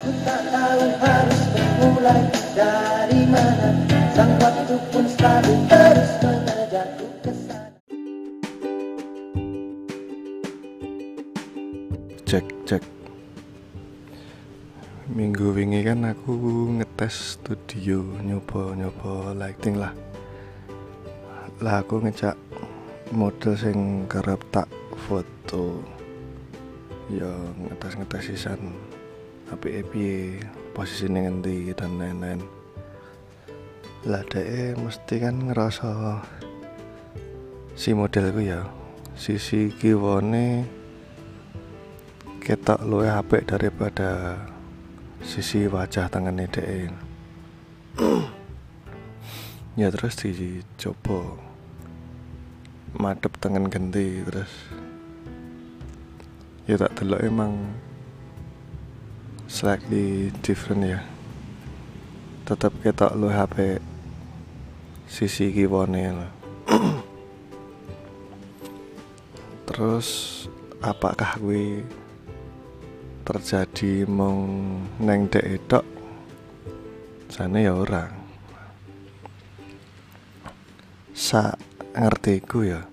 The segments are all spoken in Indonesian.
Tak tahu harus memulai dari mana, sang waktu pun selalu terus mengejarku ke sana. Cek. Minggu wingi kan aku ngetes studio, nyoba lighting lah. Lah aku ngejak model sing kerep tak foto. Ya ngetes sisan apike posisine ngendi dan lain-lain. Lah dhek mesti kan ngerasa si modelku ya sisi kiwane ketok luwih apik daripada sisi wajah tengene dhek. Ya terus dicoba madep tengen ganti, terus ya tak delok emang slightly different ya, tetap ketok luwih apik sisi kiwane lah. Terus apakah kuwi terjadi mung neng dek tok? Jane ya ora. Sak ngertiku ya.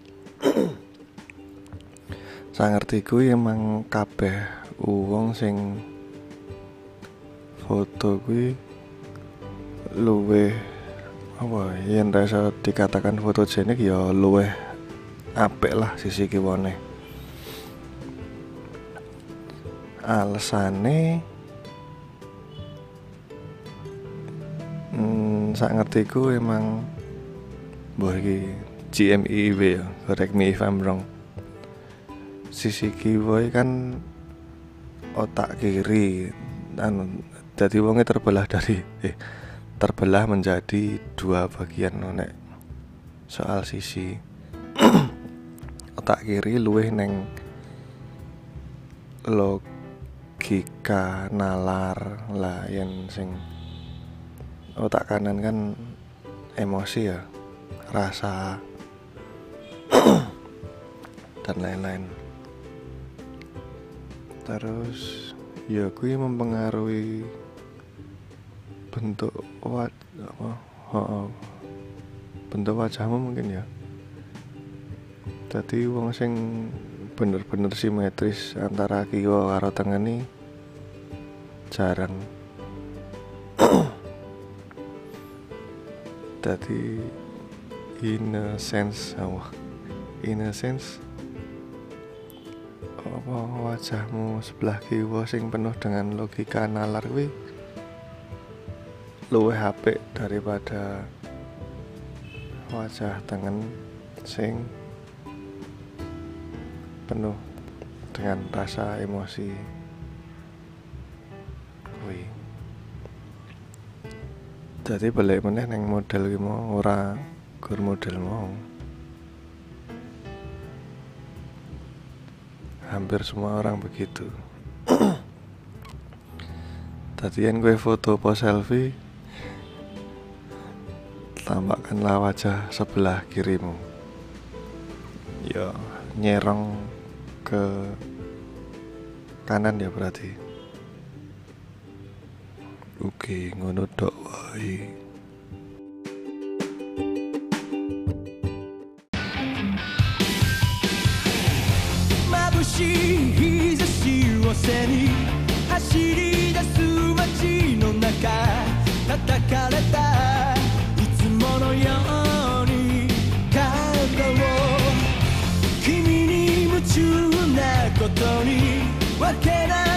Sak ngertiku emang kabeh wong sing foto kuwi luwih apa yen rasa dikatakan fotogenik ya luwih apik lah sisi kiwane. Alesane sak ngertiku emang mbah iki GMIW ya, correct me if I'm wrong. Sisi kiwa kan otak kiri, jadi wonge terbelah menjadi dua bagian nek soal sisi. Otak kiri luwih neng logika nalar lah, yen sing otak kanan kan emosi ya, rasa dan lain-lain. Terus ya kuwi mempengaruhi bentuk bentuk wajahmu mungkin ya. Dadi wong sing bener-bener simetris antara kiwa karo tengene jarang. Dadi in a sense apa wajahmu sebelah kiwa sing penuh dengan logika nalar kuwi luwih apik daripada wajah tengen sing penuh dengan rasa emosi kuwi. Jadi balik meneh neng model ki mau ora gur model mau. Hampir semua orang begitu. Tadian gue foto pose selfie, tampakkanlah wajah sebelah kirimu. Ya, nyerong ke kanan ya berarti. Oke, ngono tok wae. 日差しを背に走り出す街の中、叩かれたいつものように感動を君に夢中なことにわけない